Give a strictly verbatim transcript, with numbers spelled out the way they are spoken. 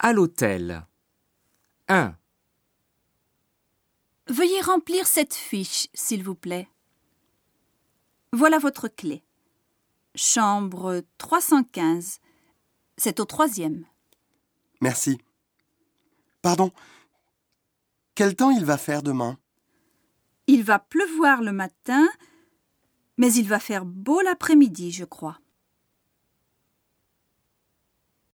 À l'hôtel. un. Veuillez remplir cette fiche, s'il vous plaît. Voilà votre clé. Chambre trois cent quinze. C'est au troisième. Merci. Pardon. Quel temps il va faire demain? Il va pleuvoir le matin, mais il va faire beau l'après-midi, je crois.